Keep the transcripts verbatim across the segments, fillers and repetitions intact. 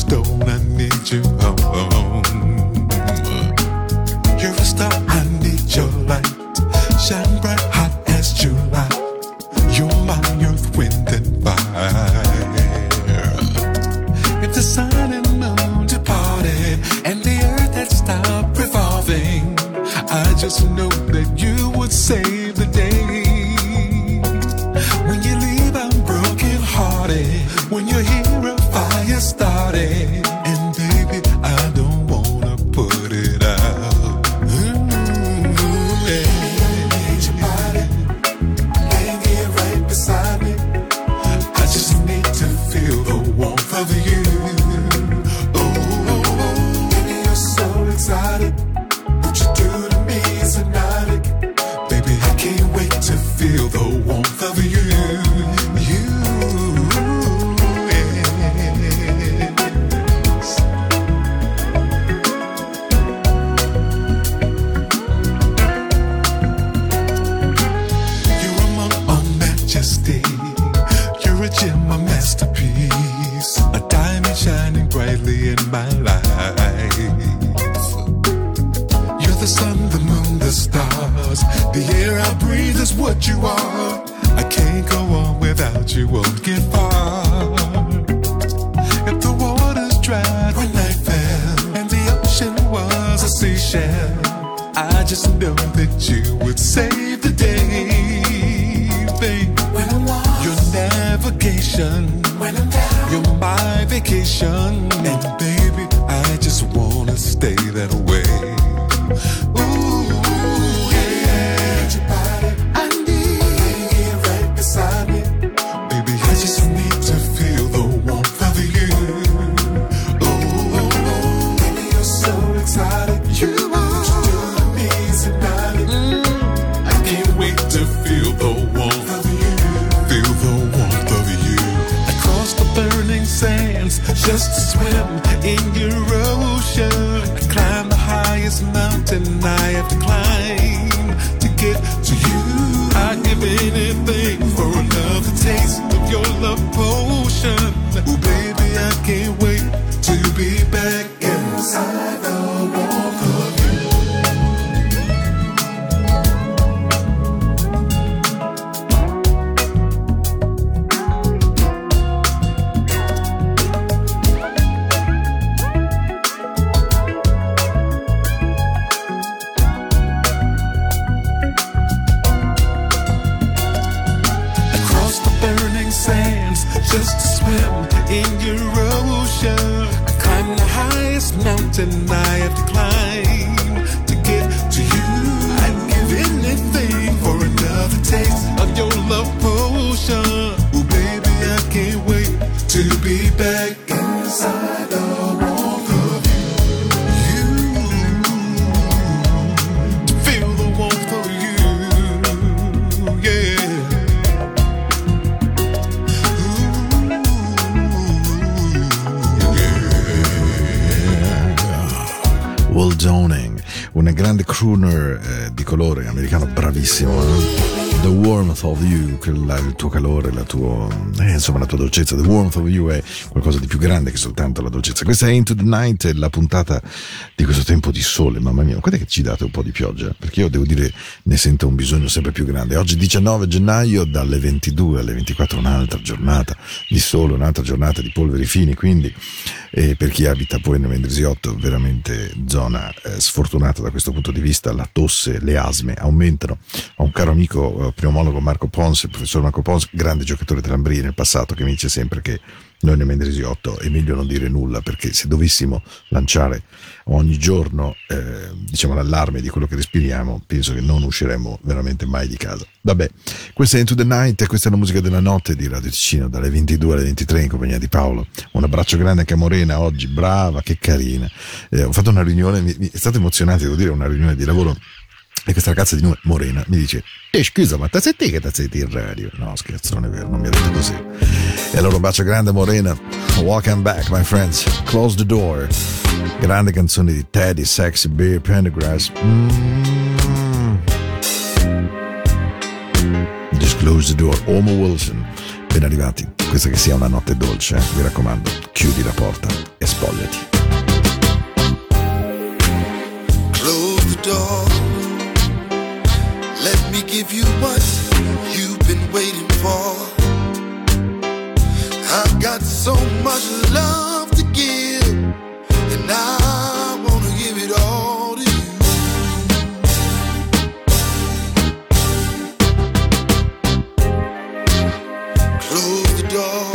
stone, I need you home. You're a star, I need your light. Shine bright, hot as July. You're my earth, wind and fire. If the sun and moon departed and the earth had stopped revolving, I just know that you would save the day. When you leave, I'm broken hearted. When you hear a fire started, and baby, I don't wanna put it out. Mm-hmm. Yeah. I need your body, laying here right beside me. I just need to feel the warmth of you. Oh, baby, you're so excited. What you do to me is hypnotic. Baby, I can't wait to feel the warmth of you. You. You're a gem, a masterpiece, a diamond shining brightly in my life. You're the sun, the moon, the stars. The air I breathe is what you are. I can't go on without you, won't get far. If the water's dried when night fell and the ocean was a seashell, I just know that you would save the day, babe. Your navigation, when I'm down, you're my vacation, and baby, I just wanna stay that way. Ooh, yeah. I need your body, I need you right beside me. Baby, I just need to feel the warmth of you. Oh, baby, you're so excited. You are. What you do to me is hypnotic. Mm. I can't wait to feel the warmth of you. Feel the warmth of you. Across the burning sands, just to swim in your ocean. I climb the highest mountain I have to climb to get to you. I'd give anything for another taste of your love potion. Oh baby, I can't wait to be back inside the warmth of you. Just to swim in your ocean. I climb the highest mountain I have to climb to get to you. I'd give anything for another taste of your love potion. Oh baby, I can't wait to be back inside the warmth of you. You, to feel the warmth of you, yeah. Will Downing, un grande crooner eh, di colore americano bravissimo. Eh? The warmth of you, il tuo calore, la tua, eh, insomma la tua dolcezza. The warmth of you è qualcosa di più grande che soltanto la dolcezza. Questa è Into the Night, la puntata di questo tempo di sole. Mamma mia, guarda che ci date un po' di pioggia, perché io devo dire ne sento un bisogno sempre più grande. Oggi diciannove gennaio, dalle ventidue alle ventiquattro un'altra giornata di sole, un'altra giornata di polveri fini, quindi eh, per chi abita poi nel Mendrisiotto, veramente zona eh, sfortunata da questo punto di vista. La tosse, le asme aumentano. Ho un caro amico eh, pneumologo, Marco Pons, il professor Marco Pons, grande giocatore dell'Ambrì nel passato, che mi dice sempre che noi nel Mendrisiotto è meglio non dire nulla, perché se dovessimo lanciare ogni giorno eh, diciamo l'allarme di quello che respiriamo, penso che non usciremo veramente mai di casa. Vabbè, questa è Into the Night, questa è la musica della notte di Radio Ticino, dalle ventidue alle ventitré in compagnia di Paolo. Un abbraccio grande anche a Morena oggi, brava, che carina. Eh, ho fatto una riunione, mi, mi, è stato emozionante, devo dire, una riunione di lavoro. E questa ragazza di nome Morena mi dice: eh scusa, ma te sei te che ti senti in radio? No scherzo, non è vero, non mi ha detto così. E allora un bacio grande Morena. Welcome back my friends, Close the Door, grande canzone di Teddy, Sexy Bear, Pendergrass. mm. Just Close the Door, Homo Wilson, ben arrivati. questa che sia una notte dolce, eh? Mi raccomando, chiudi la porta e spogliati. Close the door. Let me give you what you've been waiting for. I've got so much love to give, and I wanna give it all to you. Close the door.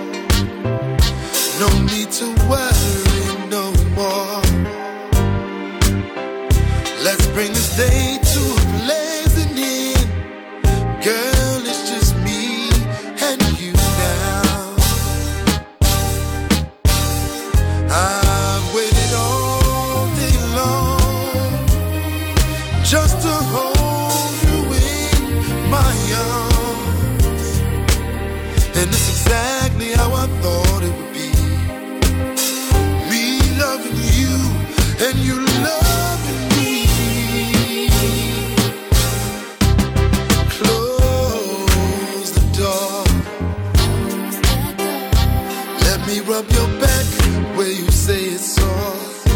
No need to worry no more. Let's bring this day to a blazing end. Girl, it's just me and you now. I've waited all day long just to hold you in my arms. And it's exactly how I thought it would be. Me loving you and you loving me. Close the door. Let me rub your back where you say it's sore.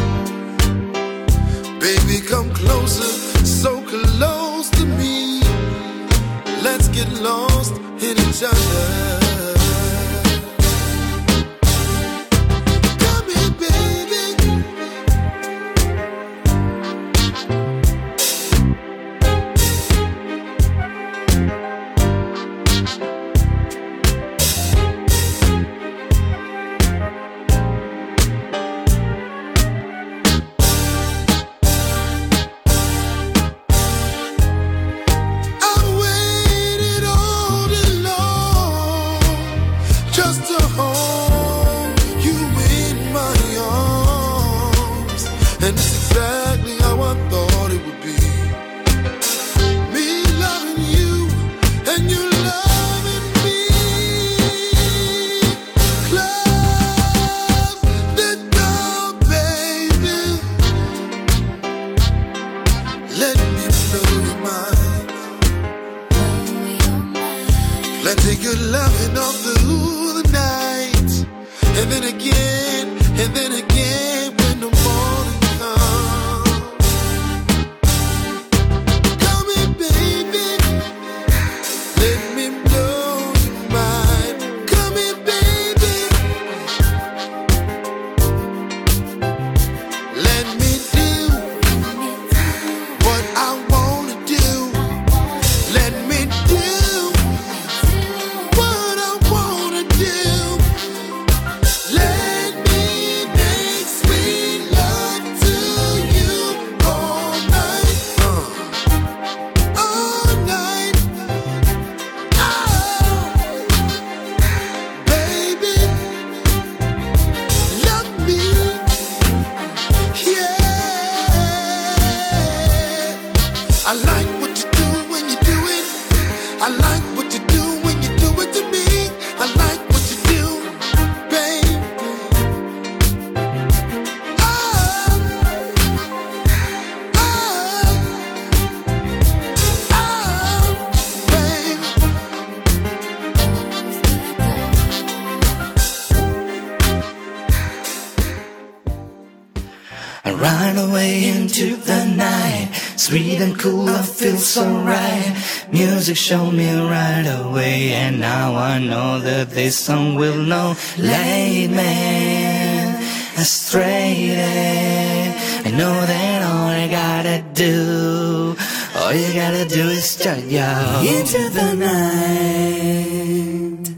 Baby, come closer, so close to me. Let's get lost in each other. Come here, baby. I waited all day long just to hold you in my arms. And it's exactly how I thought it would be. Me loving you and you loving me. Close the door, baby. Let me blow your mind. Let's take your loving all through the night. And then again, and then again when the morning comes. Come here, baby. Let me blow your mind. Come here, baby. Let me do what I wanna do. Let me do what I wanna do. Let me make sweet love to you all night, uh, all night. Oh, baby, love me, yeah. I like what you do when you do it. I like what you do when you do it to me. I like what you do, baby. Oh, oh, oh, baby. I run away into the night, sweet and cool, I feel so right. Music showed me right away, and now I know that this song will know. Late man, astray. I know that all I gotta do, all you gotta do is start yo into the night.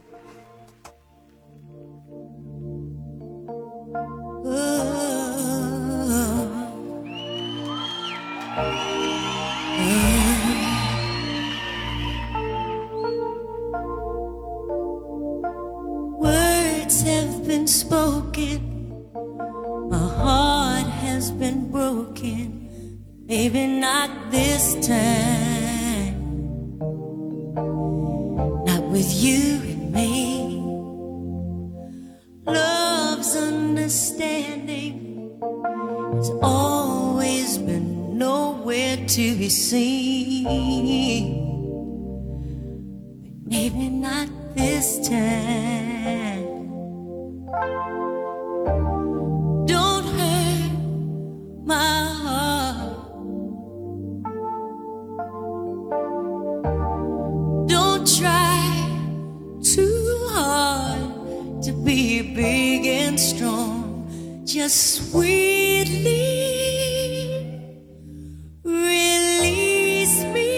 Words have been spoken, my heart has been broken, maybe not this time, not with you and me. Love's understanding has always been nowhere to be seen, but maybe not this time. Don't hurt my heart. Don't try too hard to be big and strong. Just sweetly release me.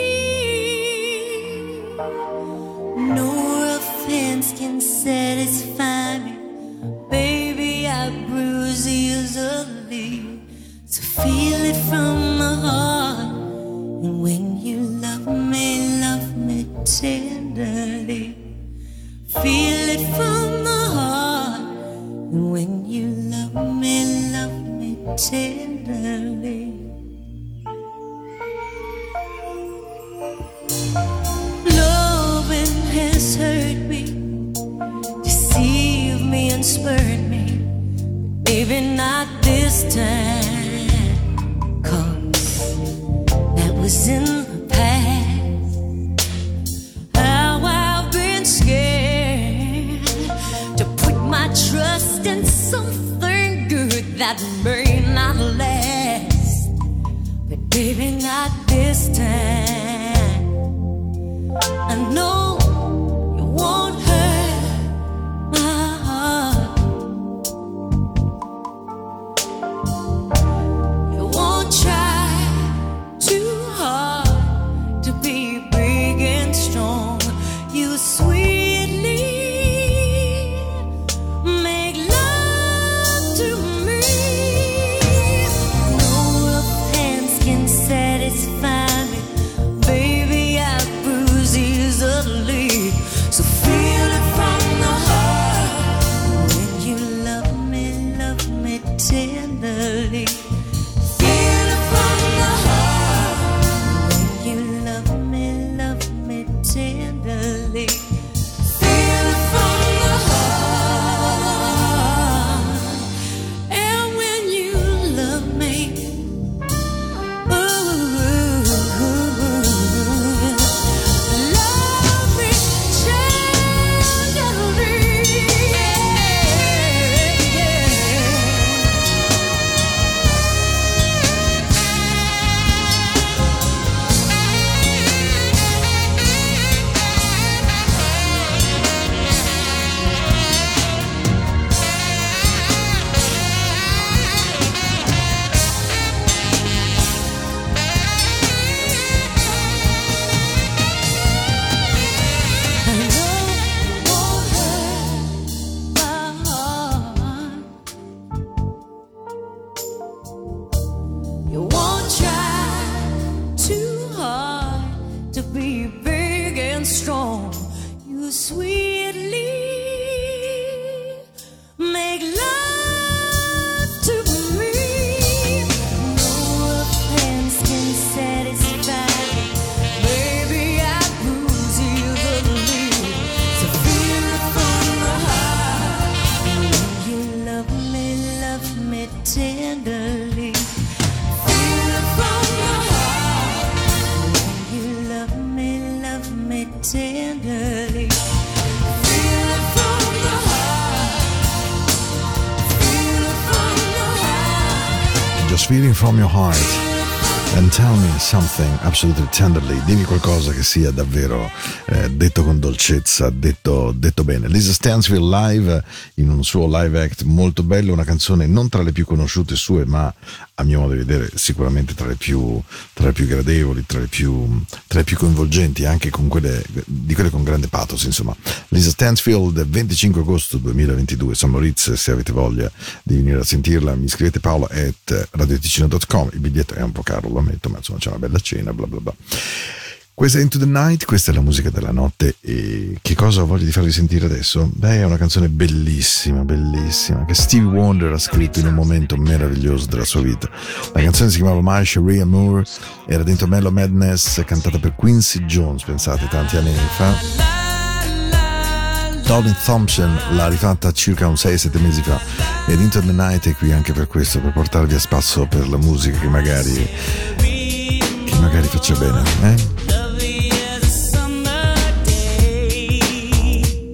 No offense can satisfy me. Baby, I bruise easily. So feel it from the heart. And when you love me, love me tenderly. Feel it from the heart. And when you love me, love me tenderly. Loving has hurt me, deceived me and spurred me. Baby, not this time, 'cause that was in the past. How I've been scared to put my trust in something good that may not last. But baby, not this time. I know you won't hurt my heart. You won't try too hard to be big and strong. You sweetly make love to me. No offense can satisfy me. Baby, I bruise easily. So feel it from the heart. When you love me, love me tenderly. Feel it from the heart. When you love me, love me tenderly. Feel it from the heart. And when you love me, ooh, love me tenderly. I know you won't hurt my heart. You won't try too hard to be big and strong. You sweetly make love to me. No offense can satisfy me. Baby, I bruise easily. So feel it from the heart. When you love me, love me tenderly. Feel it from the heart. When you love me, love me tenderly. Feel it from the heart. Feel it from the heart. Just feeling from your heart and tell me something absolutely tenderly. Dimmi qualcosa che sia davvero eh, detto con dolcezza, detto, detto bene. Lisa Stansfield live in un suo live act molto bello, una canzone non tra le più conosciute sue, ma a mio modo di vedere sicuramente tra le più, tra le più gradevoli, tra le più, tra le più coinvolgenti, anche con quelle, di quelle con grande pathos, insomma. Lisa Stansfield, venticinque agosto duemilaventidue, San Moritz. Se avete voglia di venire a sentirla, mi scrivete paolo at radioticino punto com. Il biglietto è un po' caro, lo ammetto, ma insomma c'è una bella cena, bla bla bla. Questa è Into the Night, questa è la musica della notte. E che cosa ho voglia di farvi sentire adesso? Beh, è una canzone bellissima, bellissima, che Stevie Wonder ha scritto in un momento meraviglioso della sua vita. La canzone si chiamava My Sharia Moore, era dentro Mellow Madness, cantata per Quincy Jones, pensate, tanti anni fa. Colin Thompson l'ha rifatta circa un sei sette mesi fa, ed Into the Night è qui anche per questo, per portarvi a spasso per la musica che magari che magari faccia bene, eh?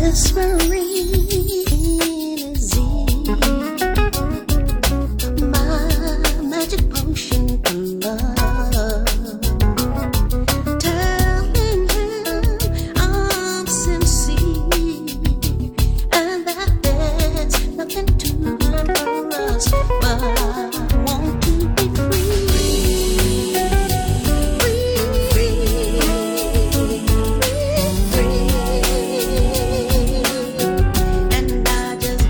And I just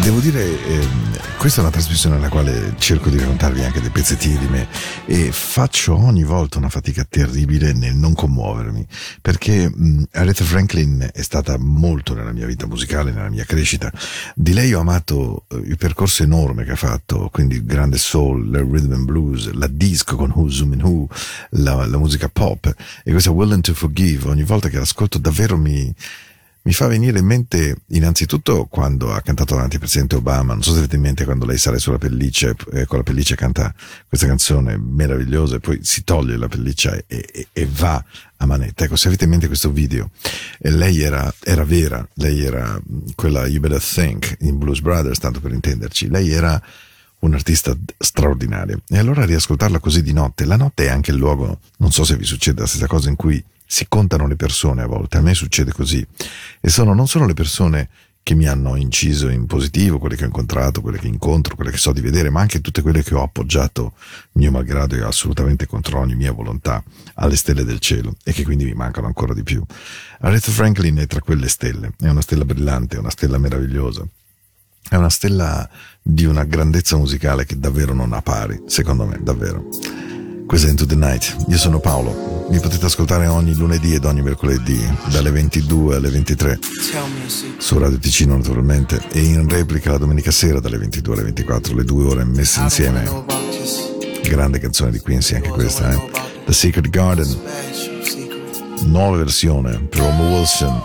Devo dire, eh, questa è una trasmissione nella quale cerco di raccontarvi anche dei pezzettini di me e faccio ogni volta una fatica terribile nel non commuovermi, perché mh, Aretha Franklin è stata molto nella mia vita musicale, nella mia crescita. Di lei ho amato eh, il percorso enorme che ha fatto, quindi il grande soul, il rhythm and blues, la disco con Who Zoom Who, la, la musica pop, e questa Willing to Forgive, ogni volta che l'ascolto davvero mi... Mi fa venire in mente innanzitutto quando ha cantato davanti al presidente Obama, non so se avete in mente quando lei sale sulla pelliccia e con la pelliccia canta questa canzone meravigliosa e poi si toglie la pelliccia e, e, e va a manetta. Ecco, se avete in mente questo video, e lei era, era vera, lei era quella You Better Think in Blues Brothers, tanto per intenderci, lei era un artista straordinario. E allora riascoltarla così di notte, la notte è anche il luogo, non so se vi succede la stessa cosa, in cui si contano le persone a volte, a me succede così, e sono non solo le persone che mi hanno inciso in positivo, quelle che ho incontrato, quelle che incontro, quelle che so di vedere, ma anche tutte quelle che ho appoggiato mio malgrado e assolutamente contro ogni mia volontà alle stelle del cielo e che quindi mi mancano ancora di più. Aretha Franklin è tra quelle stelle, è una stella brillante, è una stella meravigliosa, è una stella di una grandezza musicale che davvero non ha pari, secondo me, davvero. Questa è Into the Night, io sono Paolo, mi potete ascoltare ogni lunedì ed ogni mercoledì dalle ventidue alle ventitré su Radio Ticino naturalmente, e in replica la domenica sera dalle ventidue alle ventiquattro, le due ore messe insieme. Grande canzone di Quincy anche questa, eh? The Secret Garden, nuova versione per Homo Wilson.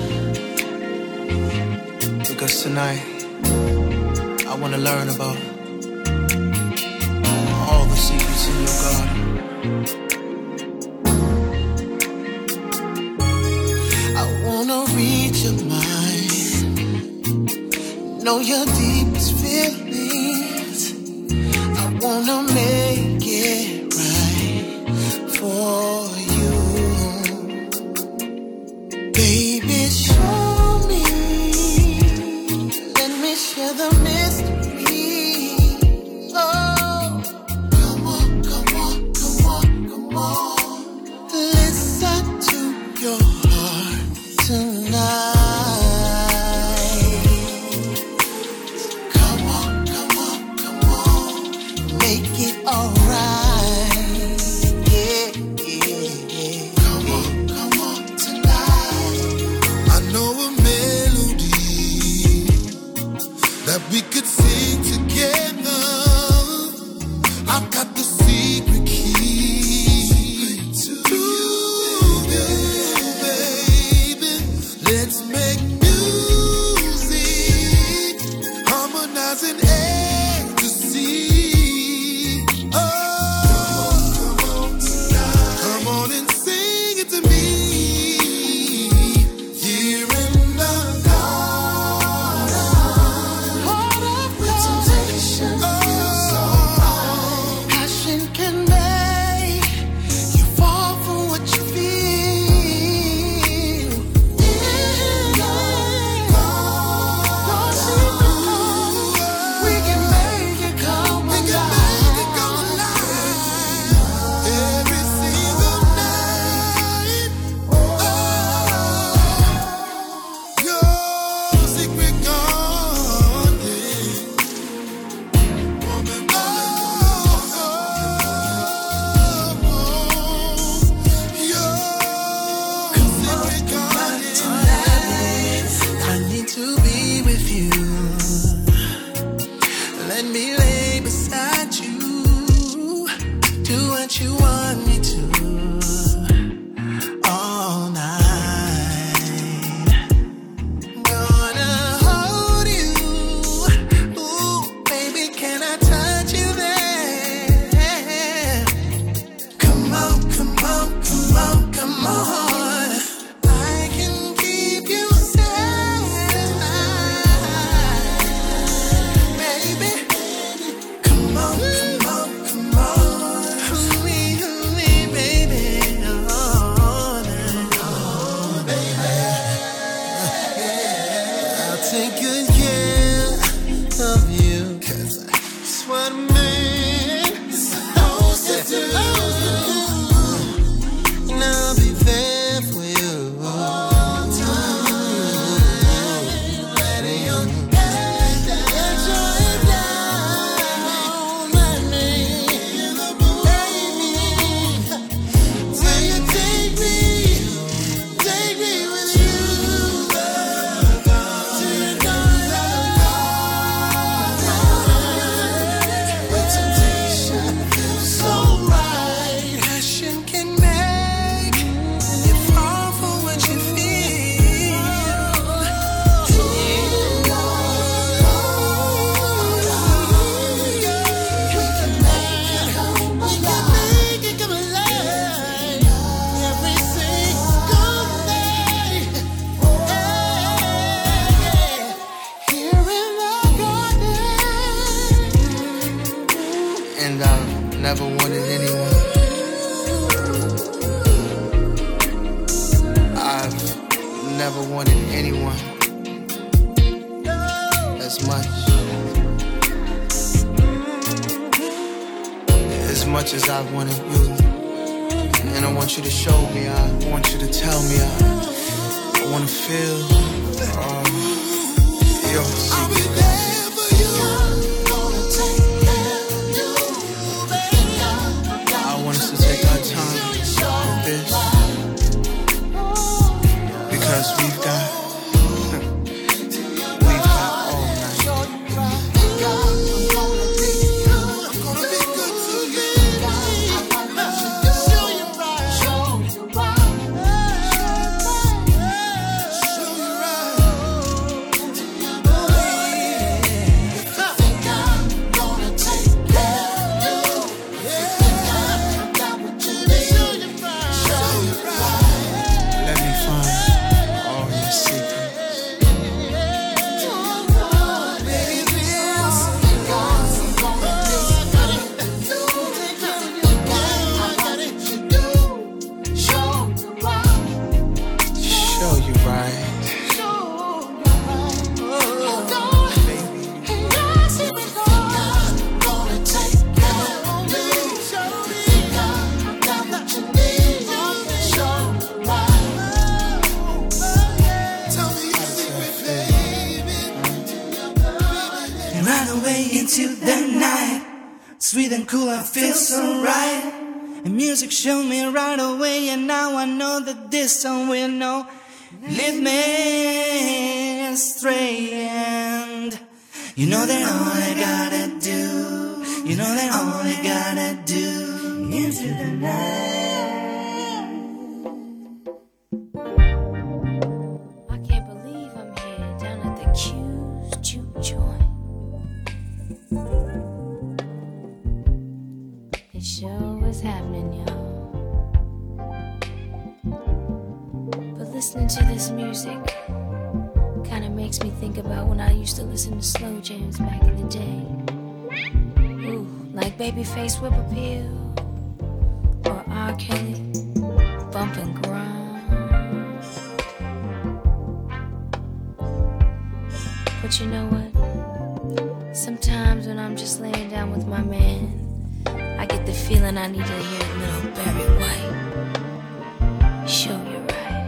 Because tonight I want to learn about all the secrets in your garden. I wanna read your mind, know your deepest feelings. I wanna make it right for you, baby. Show me, let me share the mystery. Oh, come on, come on, come on, come on. Listen to your heart tonight. Come on, come on, come on. Make it alright. Yeah, yeah, yeah. Come on, come on tonight. I know a melody that we could sing together. I've got the secret key to you, baby. Let's make music, harmonizing ecstasy. Oh, come on, come on and sing it to me. Here in the garden, Heart of temptation, passion can make you fall for what you feel. In the garden, we can make it come we can make it come alive. alive every single night. Oh, your secret garden, woman, oh, your secret garden. I need to be with you. Let me lay beside you. Do what you want me to all night. Gonna hold you. Ooh, baby, can I touch you there? Come on, come on, come on, come on. I can keep you satisfied, baby. Come on, come on, come on. Hold me, hold me, baby. All night, oh, baby. I'll take good care of you, 'cause that's what a man is supposed to do. And I'll be there for you all time. Letting your guard down. as much. As much as I wanted you. And I want you to show me, I want you to tell me, I, I want to feel uh, your secret. I'll be there for you. Gonna take care of you, baby. I want us to take our time with this. Because we've got, we've got all night. I'm gonna be good to you. Show you right. Show you right. Show you right. If you think I'm gonna take care of you, I got what you need. Show you right. Show you right. Let me find all your secrets. Show you right. Right away into the night, sweet and cool, I feel so right. And music showed me right away, and now I know that this song will know. Lead me astray, and you know that all I gotta do, you know that all I gotta do into the night. I can't believe I'm here down at the Q's juke joint. It sure is happening, y'all. But listening to this music kinda makes me think about when I used to listen to slow jams back in the day. Ooh, like Babyface Whip Appeal or R. Kelly, Bump and Grind. But you know what? Sometimes when I'm just laying down with my man, I get the feeling I need to hear a little Barry White. Show you right.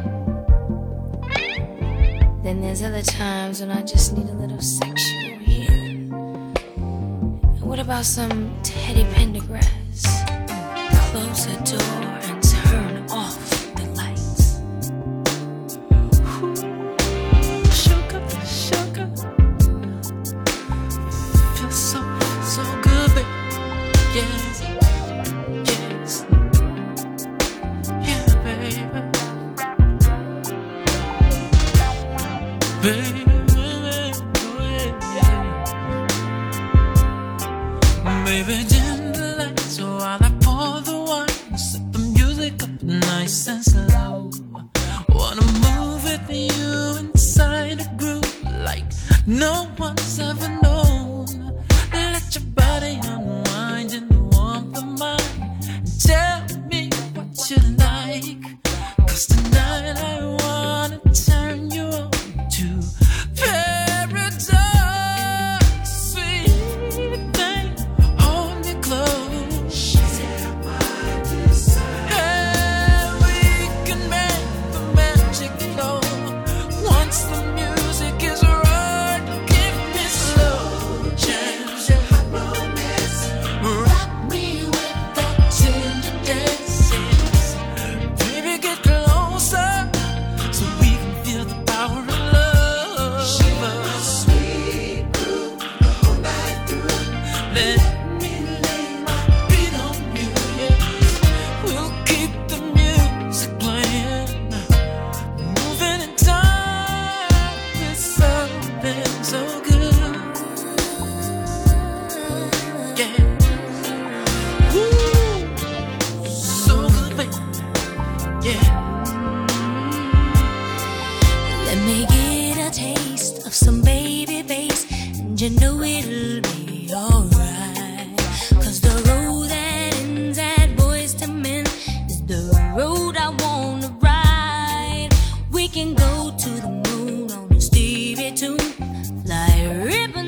Then there's other times when I just need a little sexual healing. And what about some Teddy Pendergrass? Close the door and turn off the lights. Ooh, sugar, sugar. Feels so, so good, baby. Yes, yes, yeah, baby, baby, yeah. Baby, dim the lights while I pour the wine, set the music up nice and slow. Wanna move with you inside a groove like no one's ever known. Let your body unwind in the warmth of mine. Tell me what you like, 'cause tonight I wanna turn you on to paradise. Sweet thing, hold me close. Hey, we can make the magic flow. Once the music is right, keep me slow. Change your romance, rock me with that tender dances. Baby, get closer so we can feel the power of love. Sweet groove the whole night through. Let me lay my beat on you, yeah. We'll keep the music playing, moving in time. It's something so good, yeah. Woo, so good, baby, yeah. Let me get a taste of some baby bass, and you know it'll be alright. 'Cause the road that ends at Boys to Men is the road I wanna ride. We can go to the moon on a Stevie tune, fly ribbon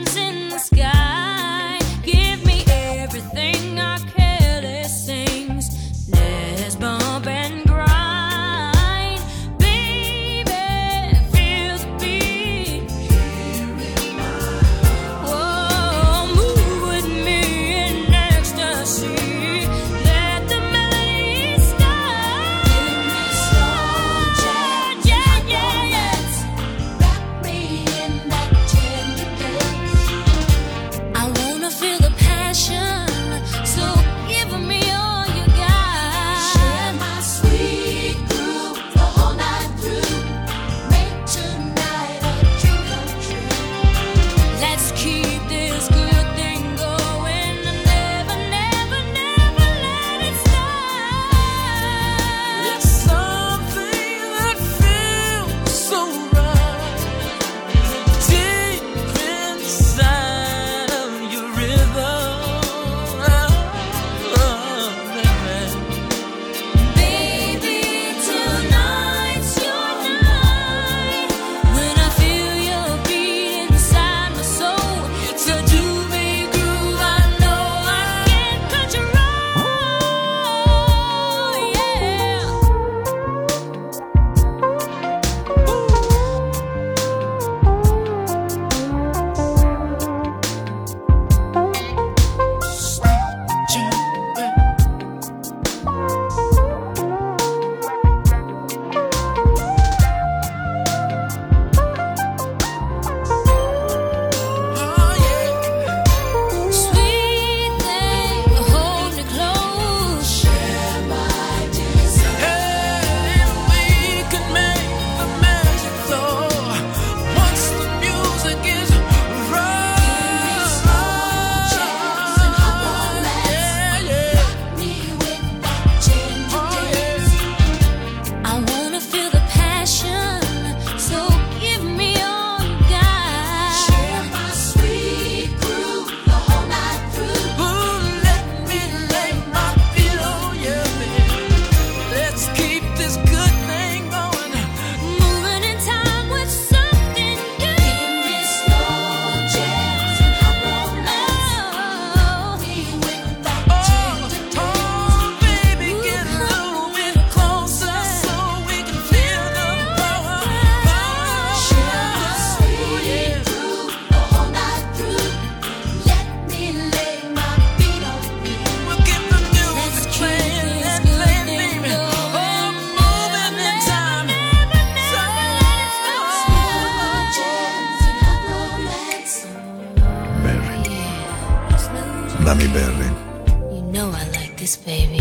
Mammy Berry. You know I like this, baby.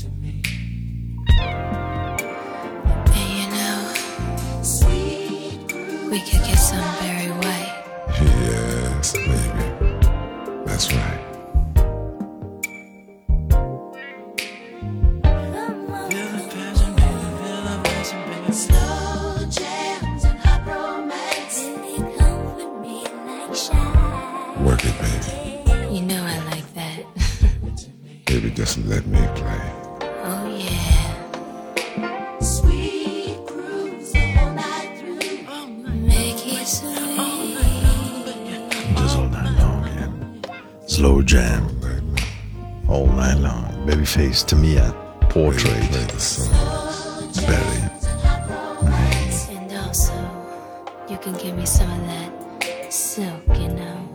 And you know, we could get some Barry White. Yes, baby. That's right. Slow jams and hot romance. They comfort me like shine. Work it, baby. You know I like that. Baby, just let me play. Oh yeah. Sweet grooves the whole night through. Make it sweet. Just all night long, yeah. Slow jam. All night long. Babyface, Tamia, Portrait. Baby, play the song. Berry. And also, you can give me some of that silk, you know.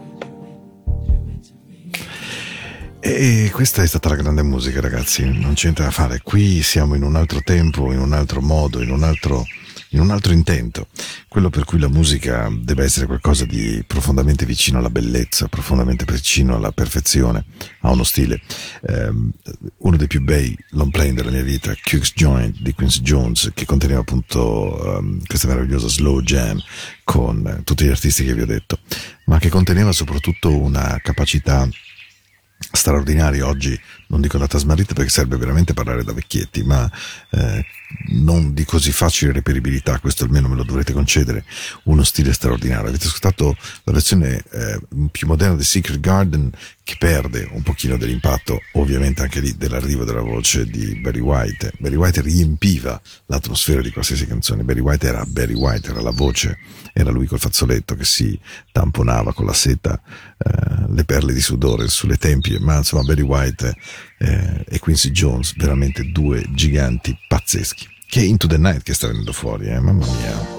E questa è stata la grande musica, ragazzi, non c'è niente da fare. Qui siamo in un altro tempo, in un altro modo, in un altro, in un altro intento. Quello per cui la musica deve essere qualcosa di profondamente vicino alla bellezza, profondamente vicino alla perfezione, ha uno stile. Um, uno dei più bei long play della mia vita, Cook's Joint di Quincy Jones, che conteneva appunto um, questa meravigliosa slow jam con tutti gli artisti che vi ho detto, ma che conteneva soprattutto una capacità straordinaria. Oggi non dico data smarrita perché serve veramente parlare da vecchietti, ma eh, non di così facile reperibilità, questo almeno me lo dovrete concedere, uno stile straordinario. Avete ascoltato la versione eh, più moderna di Secret Garden, che perde un pochino dell'impatto ovviamente anche lì dell'arrivo della voce di Barry White. Barry White riempiva l'atmosfera di qualsiasi canzone. Barry White era Barry White, era la voce, era lui col fazzoletto che si tamponava con la seta eh, le perle di sudore sulle tempie, ma insomma Barry White eh, e Quincy Jones, veramente due giganti pazzeschi. Che Into the Night che sta venendo fuori, eh, mamma mia.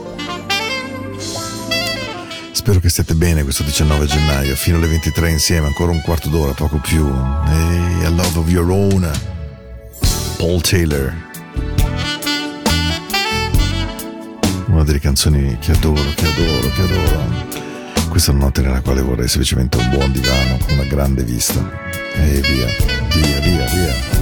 Spero che stiate bene questo diciannove gennaio, fino alle ventitré insieme, ancora un quarto d'ora, poco più. Hey, A Love of Your Own, Paul Taylor. Una delle canzoni che adoro, che adoro, che adoro. Questa è una notte nella quale vorrei semplicemente un buon divano, una grande vista. E via, via, via, via.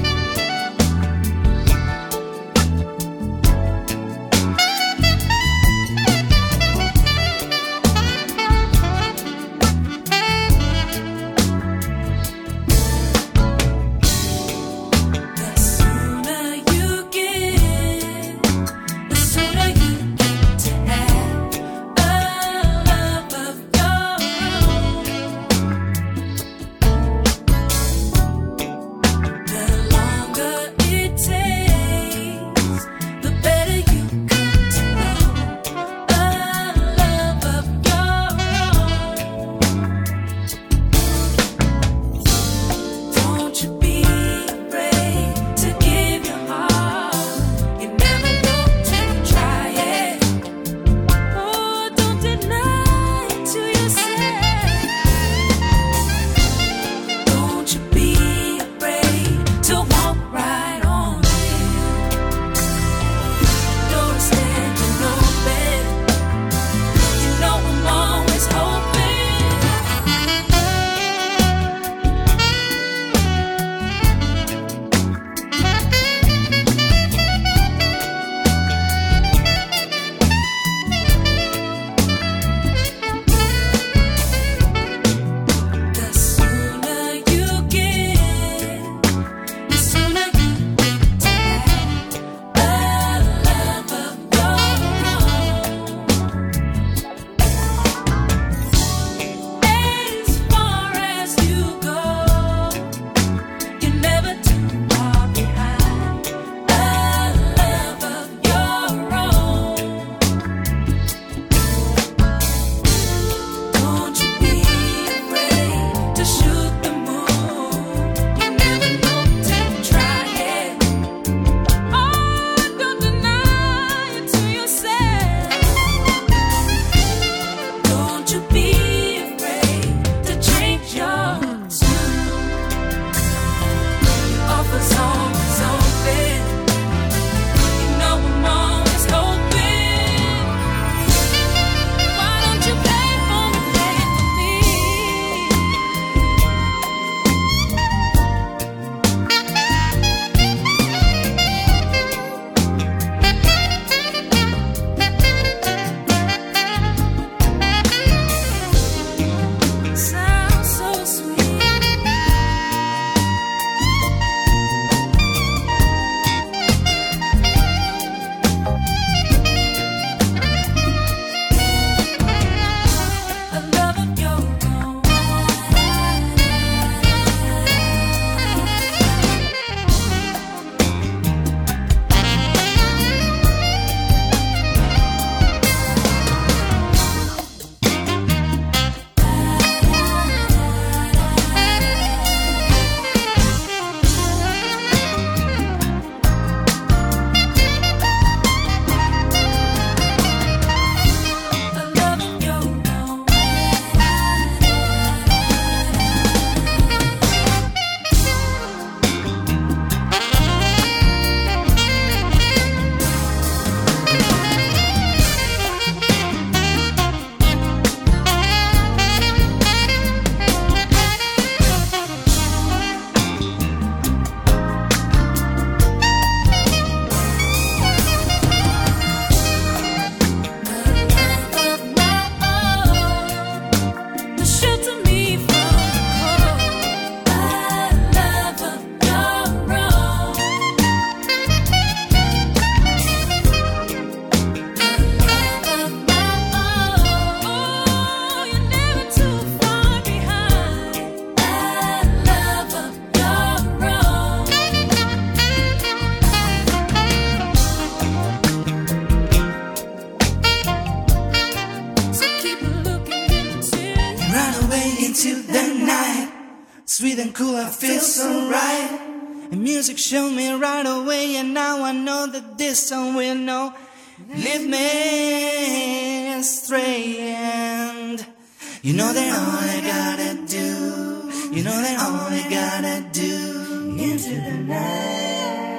The right away into the night. Sweet and cool, I feel so right. And music showed me right away, and now I know that this song will know. Lead me astray, and you know that all I gotta do, you know that all I gotta do, into the night.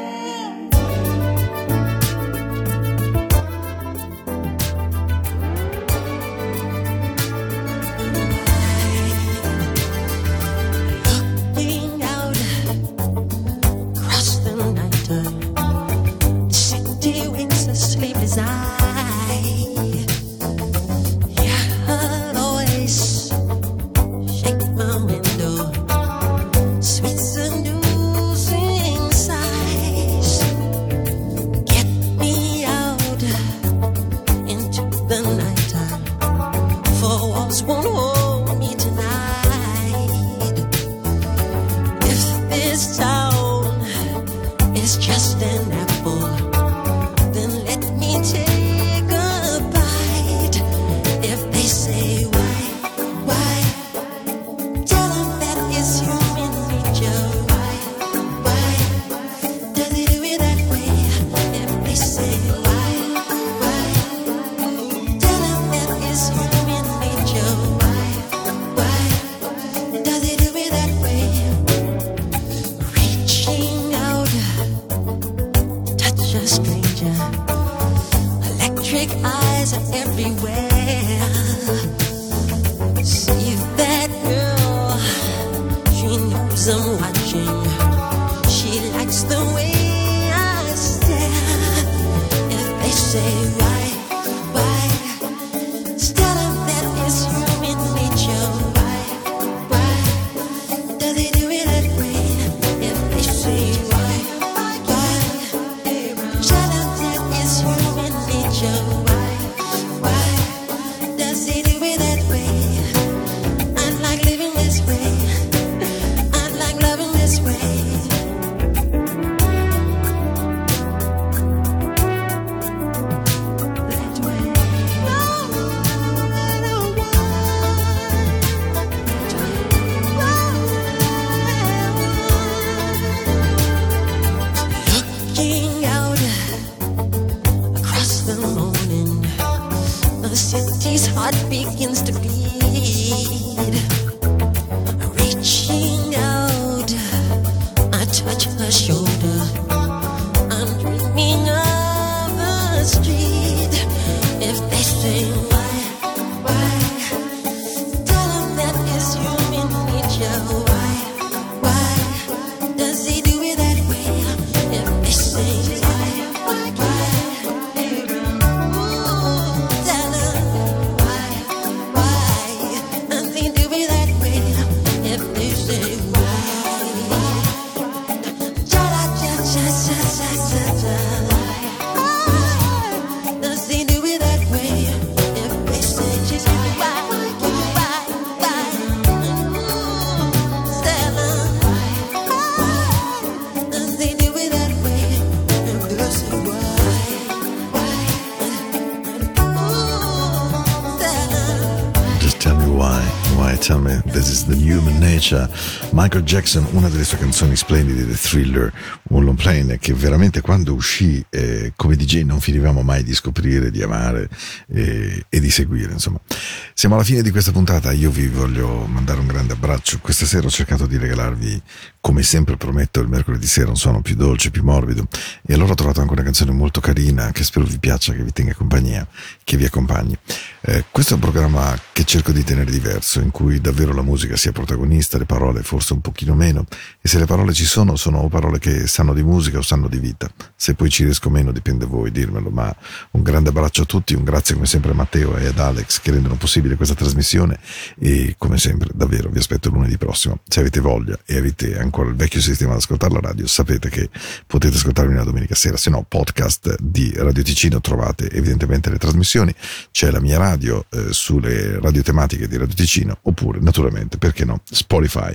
Tell Me This Is The Human Nature. Michael Jackson, una delle sue canzoni splendide, The Thriller, un long play che veramente quando uscì eh, come D J non finivamo mai di scoprire, di amare eh, e di seguire, insomma. Siamo alla fine di questa puntata, io vi voglio mandare un grande abbraccio. Questa sera ho cercato di regalarvi, come sempre prometto, il mercoledì sera un suono più dolce, più morbido, e allora ho trovato anche una canzone molto carina che spero vi piaccia, che vi tenga compagnia, che vi accompagni. Eh, questo è un programma che cerco di tenere diverso, in cui davvero la musica sia protagonista, le parole forse un pochino meno, e se le parole ci sono, sono parole che sanno di musica o sanno di vita. Se poi ci riesco meno dipende da voi dirmelo, ma un grande abbraccio a tutti, un grazie come sempre a Matteo e ad Alex che rendono possibile questa trasmissione, e come sempre davvero vi aspetto lunedì prossimo. Se avete voglia e avete ancora il vecchio sistema ad ascoltare la radio, sapete che potete ascoltarmi la domenica sera, se no podcast di Radio Ticino, trovate evidentemente le trasmissioni, c'è la mia radio eh, sulle radio tematiche di Radio Ticino, oppure naturalmente, perché no, Spotify.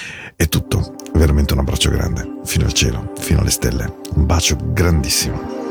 È tutto, veramente un abbraccio grande, fino al cielo, fino alle stelle, un bacio grandissimo.